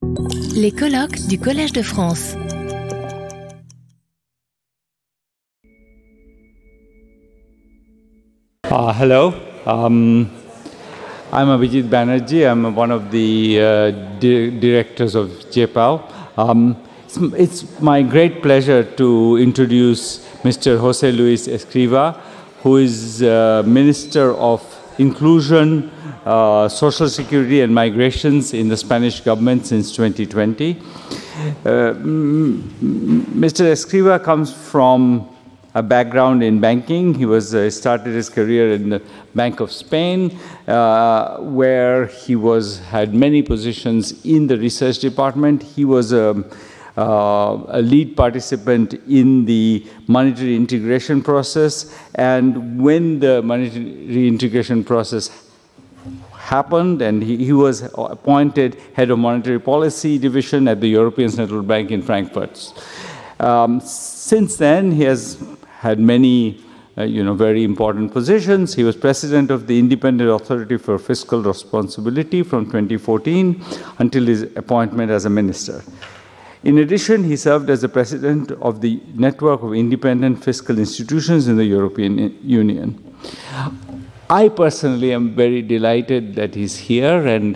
Les colloques du Collège de France. Hello. I'm Abhijit Banerjee. I'm one of the directors of JPAL. It's my great pleasure to introduce Mr. José Luis Escrivá, who is Minister of Inclusion, Social Security and Migrations in the Spanish government since 2020. Mr. Escrivá comes from a background in banking. He started his career in the Bank of Spain, where he had many positions in the research department. He was a lead participant in the monetary integration process, and when the monetary integration process happened, and he was appointed head of monetary policy division at the European Central Bank in Frankfurt. Since then, he has had many very important positions. He was president of the Independent Authority for Fiscal Responsibility from 2014 until his appointment as a minister. In addition, he served as the president of the Network of Independent Fiscal Institutions in the European Union. I personally am very delighted that he's here and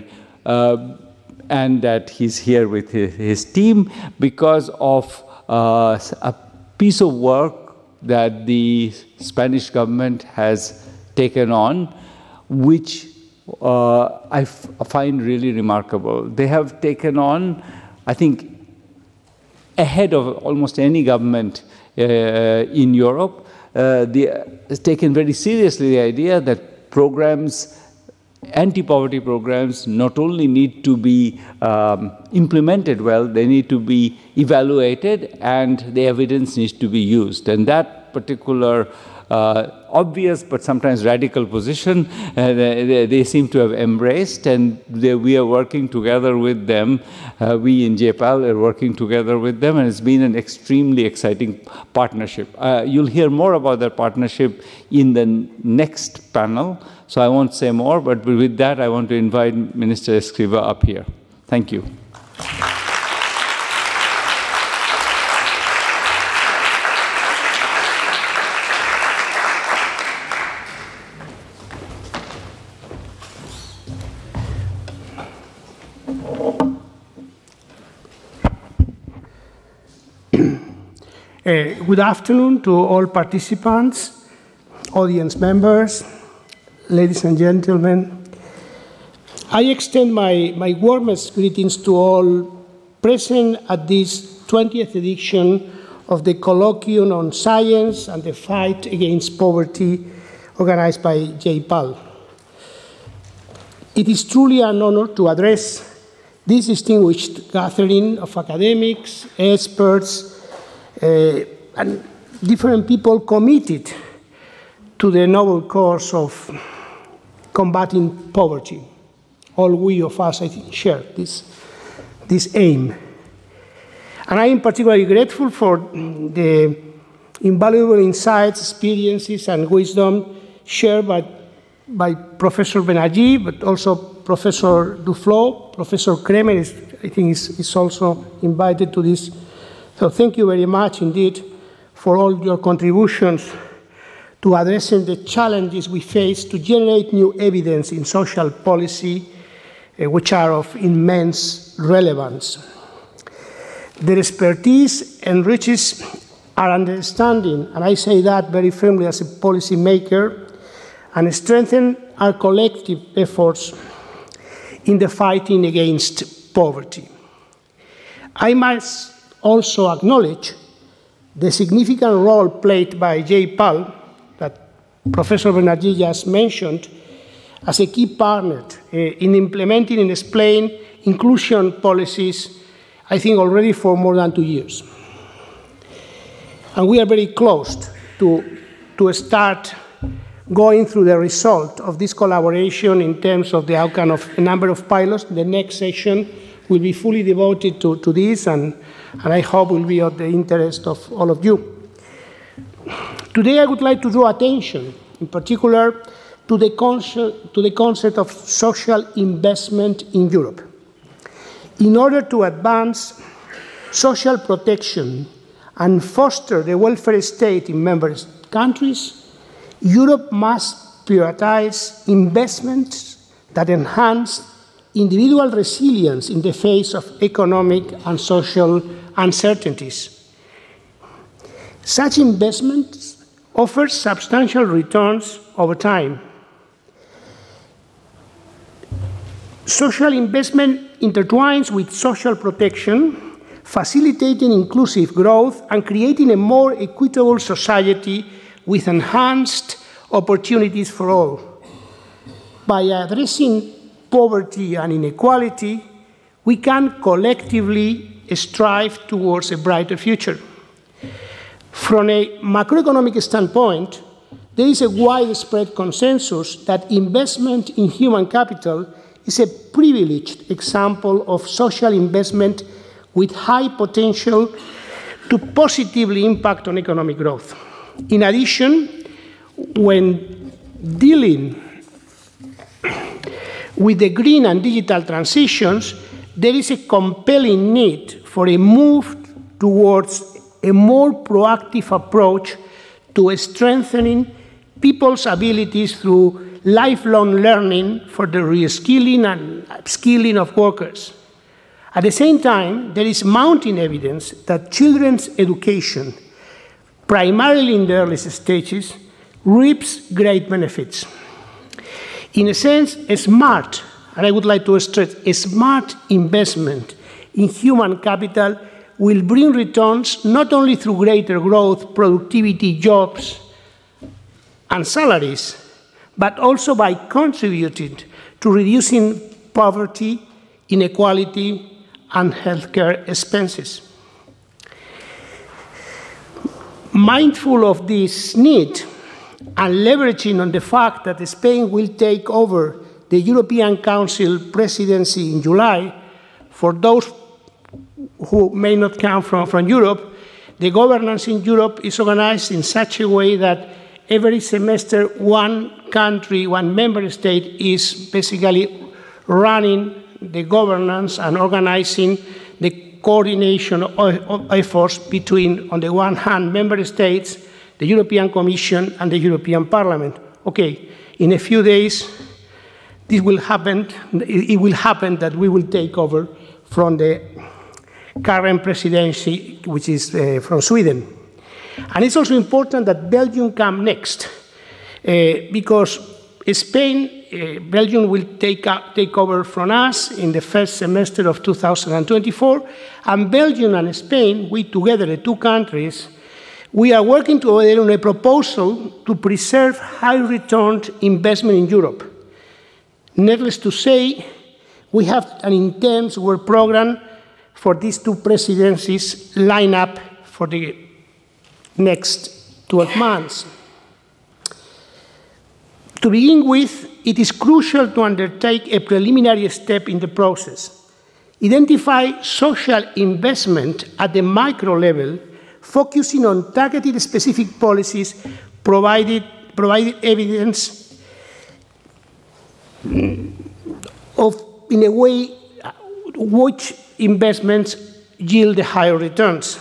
that he's here with his team because of a piece of work that the Spanish government has taken on, which I find really remarkable. They have taken on, I think, ahead of almost any government in Europe, has taken very seriously the idea that programs, anti-poverty programs, not only need to be implemented well, they need to be evaluated, and the evidence needs to be used. And that particular obvious but sometimes radical position, they seem to have embraced, and we are working together with them. We in JPAL are working together with them, and it's been an extremely exciting partnership. You'll hear more about that partnership in the next panel, so I won't say more, but with that, I want to invite Minister Escrivá up here. Thank you. Good afternoon to all participants, audience members, ladies and gentlemen. I extend my warmest greetings to all present at this 20th edition of the Colloquium on Science and the Fight Against Poverty organized by JPAL. It is truly an honor to address this distinguished gathering of academics, experts, and different people committed to the noble cause of combating poverty. All we of us, I think, share this aim. And I am particularly grateful for the invaluable insights, experiences, and wisdom shared by Professor Banerjee, but also Professor Duflo. Professor Kremer, I think, is also invited to this. So thank you very much indeed for all your contributions to addressing the challenges we face to generate new evidence in social policy, which are of immense relevance. Their expertise enriches our understanding, and I say that very firmly as a policy maker, and strengthen our collective efforts in the fighting against poverty. I must also acknowledge the significant role played by JPAL, that Professor Banerjee just mentioned, as a key partner in implementing and explaining inclusion policies, I think already for more than 2 years. And we are very close to start going through the result of this collaboration in terms of the outcome of a number of pilots. The next session will be fully devoted to this, and I hope will be of the interest of all of you. Today I would like to draw attention, in particular, to the concept of social investment in Europe. In order to advance social protection and foster the welfare state in member countries, Europe must prioritize investments that enhance individual resilience in the face of economic and social uncertainties. Such investments offer substantial returns over time. Social investment intertwines with social protection, facilitating inclusive growth and creating a more equitable society with enhanced opportunities for all. By addressing poverty and inequality, we can collectively strive towards a brighter future. From a macroeconomic standpoint, there is a widespread consensus that investment in human capital is a privileged example of social investment with high potential to positively impact on economic growth. In addition, when dealing with the green and digital transitions, there is a compelling need for a move towards a more proactive approach to strengthening people's abilities through lifelong learning for the reskilling and upskilling of workers. At the same time, there is mounting evidence that children's education, primarily in the earliest stages, reaps great benefits. In a sense, a smart, and I would like to stress, a smart investment in human capital will bring returns not only through greater growth, productivity, jobs, and salaries, but also by contributing to reducing poverty, inequality, and healthcare expenses. Mindful of this need and leveraging on the fact that Spain will take over the European Council presidency in July, for those who may not come from Europe, the governance in Europe is organized in such a way that every semester one country, one member state is basically running the governance and organizing the coordination of efforts between, on the one hand, member states, the European Commission, and the European Parliament. Okay, in a few days, this will happen. It will happen that we will take over from the current presidency, which is from Sweden. And it's also important that Belgium come next, because Belgium will take over from us in the first semester of 2024, and Belgium and Spain, we together, the two countries, we are working together on a proposal to preserve high-return investment in Europe. Needless to say, we have an intense work program for these two presidencies lined up for the next 12 months. To begin with, it is crucial to undertake a preliminary step in the process. Identify social investment at the micro level, focusing on targeted specific policies, provided evidence of, in a way, which investments yield the higher returns.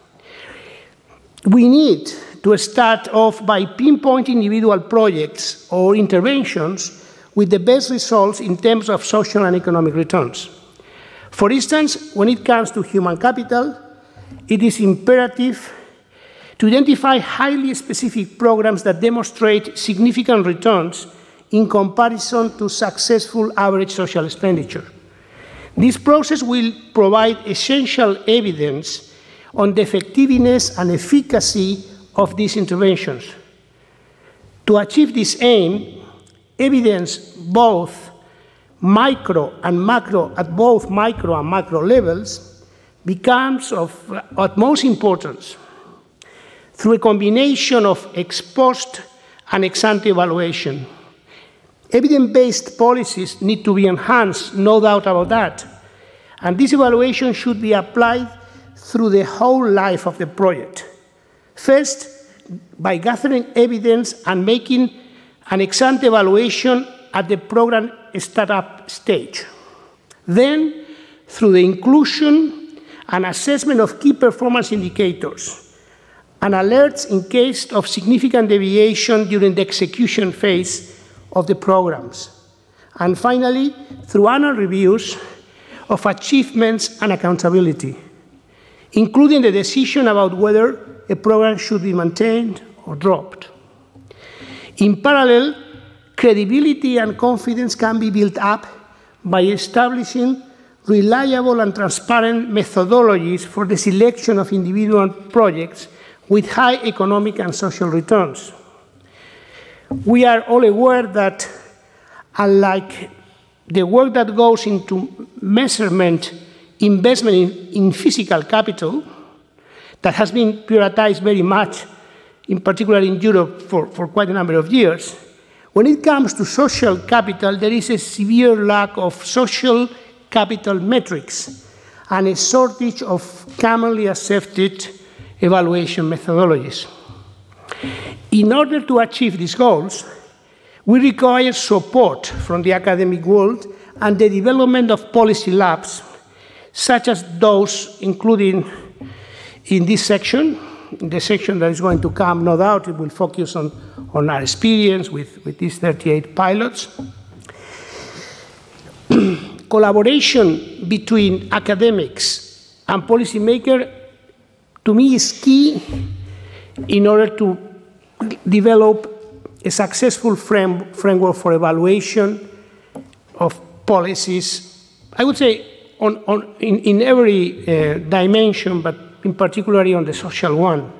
We need to start off by pinpointing individual projects or interventions with the best results in terms of social and economic returns. For instance, when it comes to human capital, it is imperative to identify highly specific programs that demonstrate significant returns in comparison to successful average social expenditure. This process will provide essential evidence on the effectiveness and efficacy of these interventions. To achieve this aim, evidence both micro and macro, at both micro and macro levels, becomes of utmost importance. Through a combination of ex post and ex ante evaluation, evidence-based policies need to be enhanced, no doubt about that. And this evaluation should be applied through the whole life of the project. First, by gathering evidence and making an ex-ante evaluation at the program startup stage. Then, through the inclusion and assessment of key performance indicators and alerts in case of significant deviation during the execution phase of the programs. And finally, through annual reviews of achievements and accountability, including the decision about whether a program should be maintained or dropped. In parallel, credibility and confidence can be built up by establishing reliable and transparent methodologies for the selection of individual projects with high economic and social returns. We are all aware that, unlike the work that goes into measurement investment in physical capital, that has been prioritized very much, in particular in Europe, for quite a number of years, when it comes to social capital, there is a severe lack of social capital metrics and a shortage of commonly accepted evaluation methodologies. In order to achieve these goals, we require support from the academic world and the development of policy labs, such as those included in this section. In the section that is going to come, no doubt, it will focus on our experience with these 38 pilots. Collaboration between academics and policymakers, to me, is key in order to develop a successful framework for evaluation of policies, I would say in every dimension, but in particular on the social one.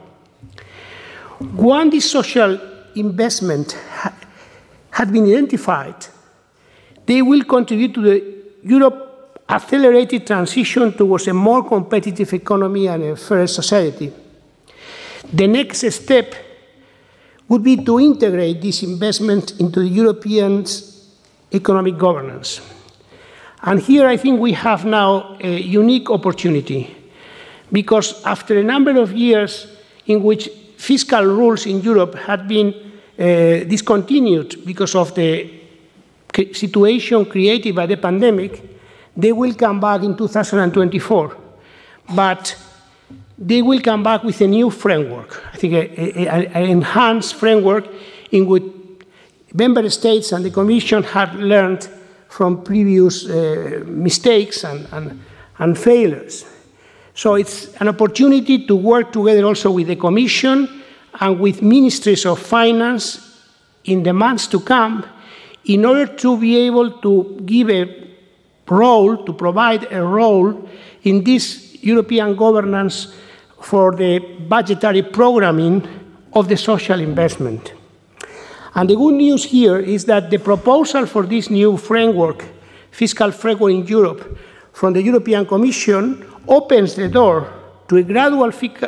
When this social investment had been identified, they will contribute to the Europe accelerated transition towards a more competitive economy and a fairer society. The next step would be to integrate this investment into the European economic governance. And here I think we have now a unique opportunity, because after a number of years in which fiscal rules in Europe had been discontinued because of the situation created by the pandemic, they will come back in 2024. But they will come back with a new framework, I think an enhanced framework in which member states and the Commission have learned from previous mistakes and failures. So it's an opportunity to work together also with the Commission and with ministries of finance in the months to come in order to be able to give a role, to provide a role in this European governance for the budgetary programming of the social investment. And the good news here is that the proposal for this new framework, fiscal framework in Europe, from the European Commission opens the door to gradual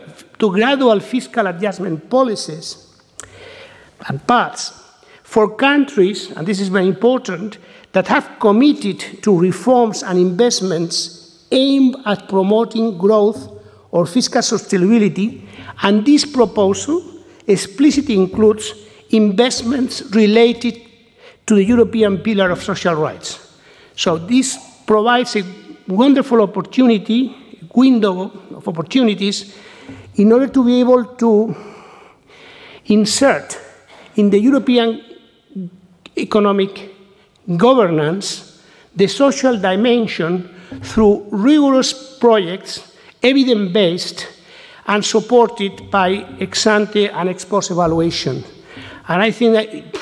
fiscal adjustment policies and paths for countries, and this is very important, that have committed to reforms and investments aimed at promoting growth or fiscal sustainability, and this proposal explicitly includes investments related to the European Pillar of Social Rights. So this provides a wonderful opportunity, window of opportunities, in order to be able to insert in the European economic governance the social dimension through rigorous projects, evidence-based, and supported by ex-ante and ex-post evaluation. And I think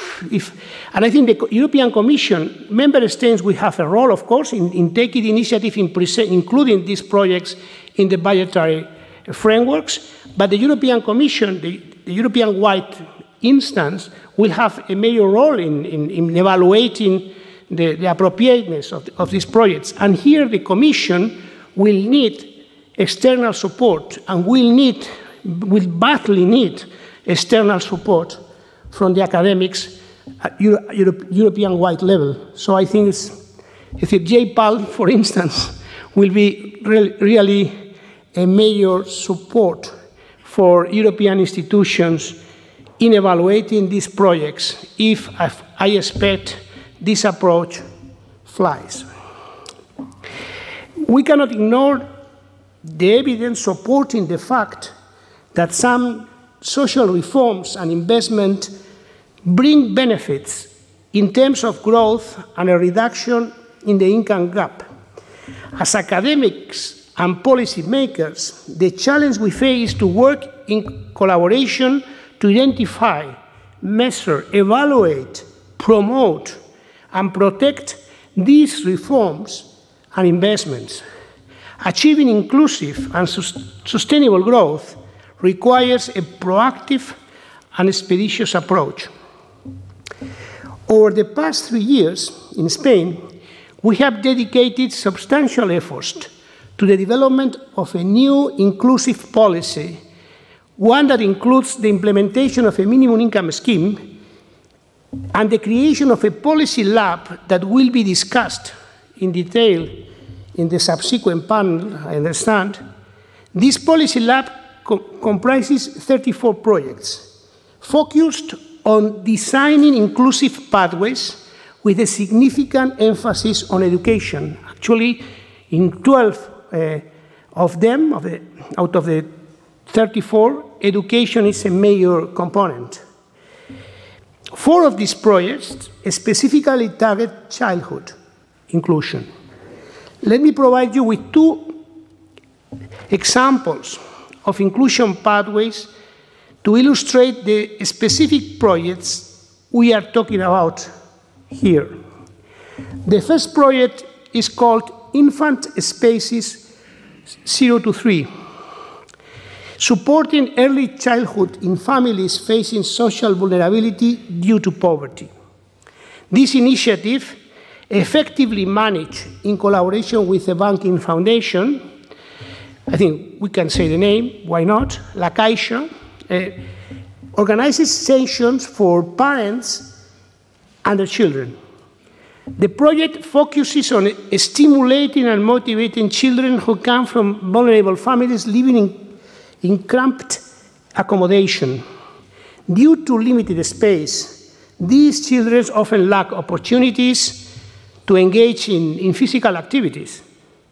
the European Commission, member states will have a role, of course, in taking initiative in including these projects in the budgetary frameworks, but the European Commission, the European-wide instance, will have a major role in evaluating the appropriateness of these projects. And here the Commission will need external support and will badly need external support from the academics at European-wide level. So I think if JPAL, for instance, will be really a major support for European institutions in evaluating these projects if I expect this approach flies. We cannot ignore the evidence supporting the fact that some social reforms and investment bring benefits in terms of growth and a reduction in the income gap. As academics and policy makers, the challenge we face is to work in collaboration to identify, measure, evaluate, promote, and protect these reforms and investments. Achieving inclusive and sustainable growth requires a proactive and expeditious approach. Over the past 3 years in Spain, we have dedicated substantial efforts to the development of a new inclusive policy, one that includes the implementation of a minimum income scheme and the creation of a policy lab that will be discussed in detail in the subsequent panel, I understand. This policy lab comprises 34 projects focused on designing inclusive pathways with a significant emphasis on education. Actually, in 12 of them, out of the 34, education is a major component. 4 of these projects specifically target childhood inclusion. Let me provide you with 2 examples of inclusion pathways to illustrate the specific projects we are talking about here. The first project is called Infant Spaces 0 to 3, supporting early childhood in families facing social vulnerability due to poverty. This initiative, effectively managed in collaboration with the Banking Foundation, I think we can say the name, why not? La Caixa, organizes sessions for parents and their children. The project focuses on stimulating and motivating children who come from vulnerable families living in cramped accommodation. Due to limited space, these children often lack opportunities to engage in physical activities.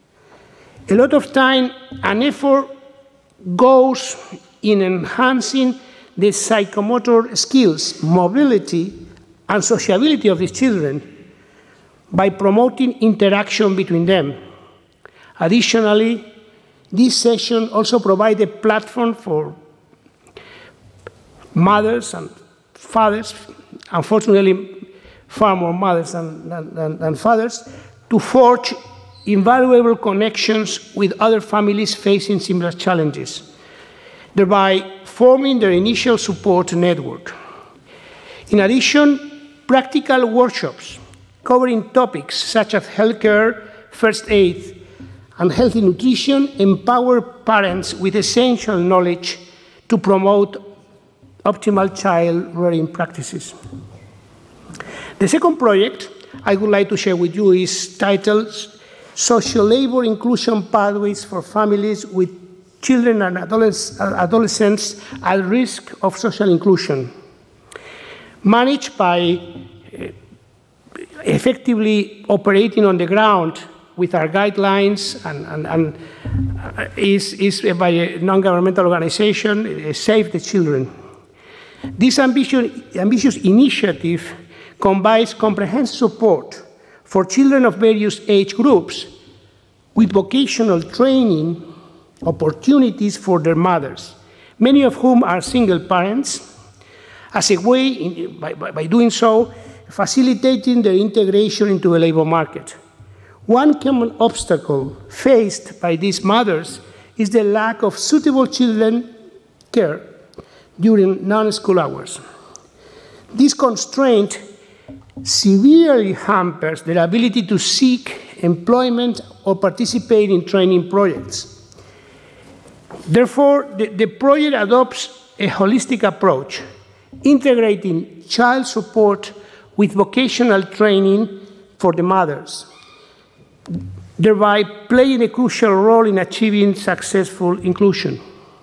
A lot of time and effort goes in enhancing the psychomotor skills, mobility, and sociability of these children by promoting interaction between them. Additionally, this session also provides a platform for mothers and fathers, unfortunately far more mothers than fathers, to forge invaluable connections with other families facing similar challenges, thereby forming their initial support network. In addition, practical workshops covering topics such as healthcare, first aid, and healthy nutrition empower parents with essential knowledge to promote optimal child rearing practices. The second project I would like to share with you is titled Social Labor Inclusion Pathways for Families with Children and Adolescents at Risk of Social Inclusion, managed by effectively operating on the ground with our guidelines and is by a non-governmental organization, Save the Children. This ambitious initiative combines comprehensive support for children of various age groups with vocational training opportunities for their mothers, many of whom are single parents, as a way, by doing so, facilitating their integration into the labor market. One common obstacle faced by these mothers is the lack of suitable children care during non-school hours. This constraint severely hampers their ability to seek employment or participate in training projects. Therefore, the project adopts a holistic approach, integrating child support with vocational training for the mothers, thereby playing a crucial role in achieving successful inclusion.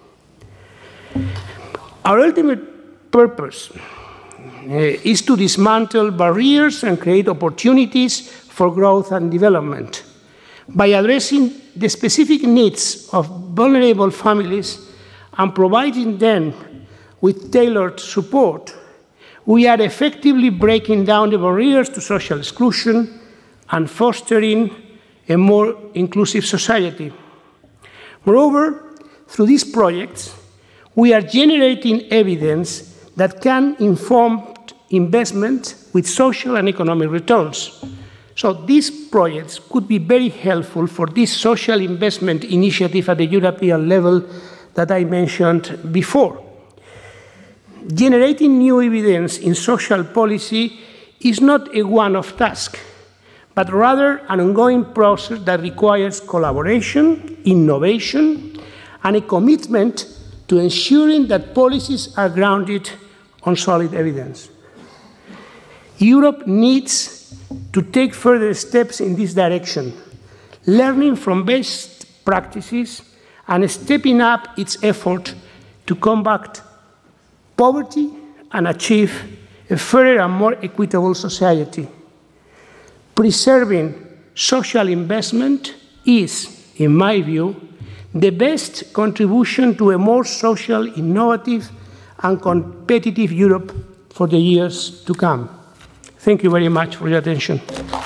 Our ultimate purpose is to dismantle barriers and create opportunities for growth and development By addressing the specific needs of vulnerable families and providing them with tailored support, we are effectively breaking down the barriers to social exclusion and fostering a more inclusive society. Moreover, through these projects, we are generating evidence that can inform investment with social and economic returns. So these projects could be very helpful for this social investment initiative at the European level that I mentioned before. Generating new evidence in social policy is not a one-off task, but rather an ongoing process that requires collaboration, innovation, and a commitment to ensuring that policies are grounded on solid evidence. Europe needs to take further steps in this direction, learning from best practices and stepping up its effort to combat poverty and achieve a fairer and more equitable society. Preserving social investment is, in my view, the best contribution to a more social, innovative, and competitive Europe for the years to come. Thank you very much for your attention.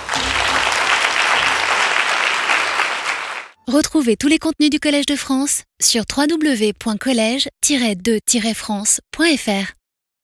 Retrouvez tous les contenus du Collège de France sur www.collège-2-france.fr.